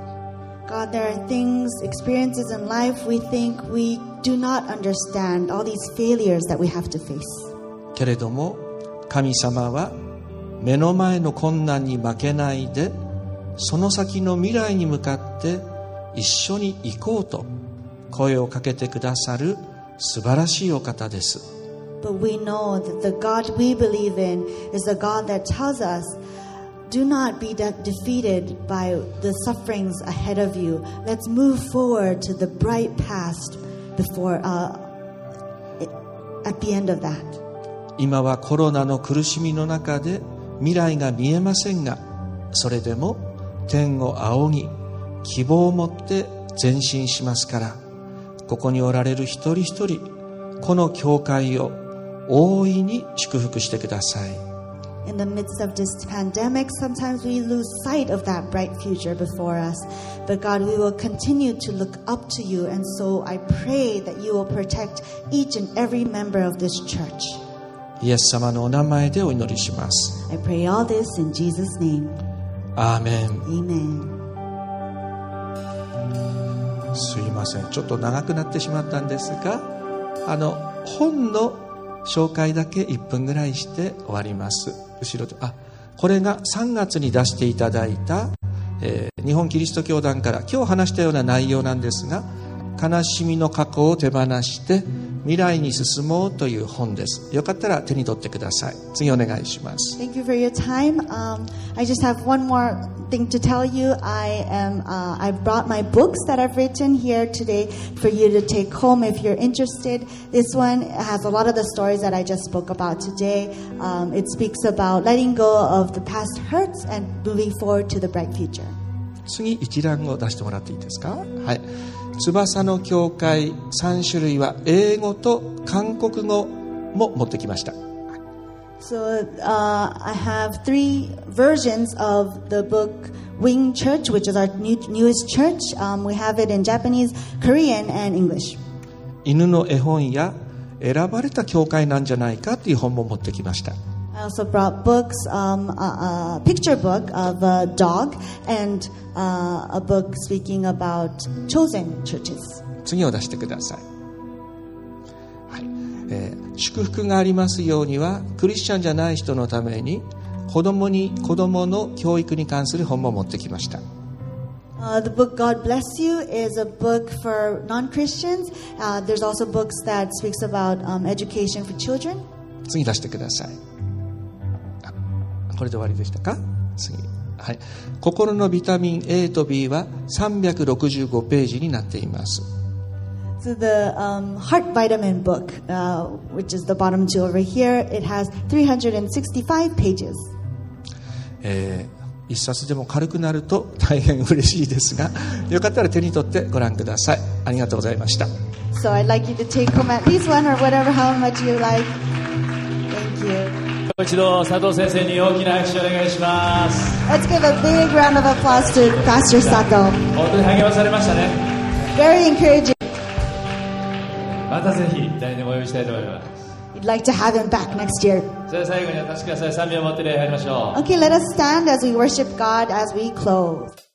God, there are things, experiences in life we think we do not understand, all these failures that we have to face. けれども神様は目の前の困難に負けないで、その先の未来に向かって一緒に行こうと声をかけてくださる素晴らしいお方です。 But we know that the God we believe in is the God that tells us, do not be de- defeated by the sufferings ahead of you. Let's move forward to the bright past before, uh, at the end of that. 今はコロナの苦しみの中で未来が見えませんが、それでも天を仰ぎ希望を持って前進しますから、ここにおられる一人一人、この教会を大いに祝福してください。 In the midst of this pandemic, sometimes we lose sight of that bright future before us. But God, we will continue to look up to you. And so I pray that you will protect each and every member of this church. イエス様のお名前でお祈りします。 I pray all this in Jesus' name. アーメン。 Amen. すいません、ちょっと長くなってしまったんですが、あの本の紹介だけいっぷんぐらいして終わります。 後ろで、あ、これがさんがつに出していただいた、えー、日本キリスト教団から今日話したような内容なんですが、悲しみの過去を手放して未来に進もうという本です。よかったら手に取ってください。次お願いします。 Thank you for your time. Um, I just have one more thing to tell you. I am uh, I brought my books that I've written here today for you to take home if you're interested. This one has a lot of the stories that I just spoke about today. Um, it speaks about letting go of the past hurts and moving forward to the bright future. 次一覧を出してもらっていいですか。はい。翼の教会さん種類は英語と韓国語も持ってきました。 So uh, I have three versions of the book Wing Church, which is our new, newest church. Um, we have it in Japanese, Korean, and English. 犬の絵本や選ばれた教会なんじゃないかという本も持ってきました。 I also brought books, um, a, a picture book of a dog and uh, a book speaking about chosen churches. 次を出してください。はい。えー、祝福がありますようにはクリスチャンじゃない人のために子供に子供の教育に関する本も持ってきました。 Uh, the book God Bless You is a book for non-Christians. Uh, there's also books that speaks about um, education for children. 次出してください。これで終わりでしたか。次、はい、心のビタミン A と B はさんびゃくろくじゅうごページになっています。 So the um, heart vitamin book, uh, which is the bottom two over here, it has three hundred sixty-five pages. えー、一冊でも軽くなると大変嬉しいですが、よかったら手に取ってご覧ください。ありがとうございました。 So I'd like you to take home at least one or whatever, how much you like. Thank you. 一度佐藤先生に大きな拍手をお願いします。 Let's give a big round of applause to Pastor Sato. 本当に励まされましたね。 Very encouraging. またぜひ来年もお呼びしたいと思います。 We'd like to have him back next year. それでは最後にお立ちください。賛美を持って礼拝りましょう。 Okay, let us stand as we worship God as we close.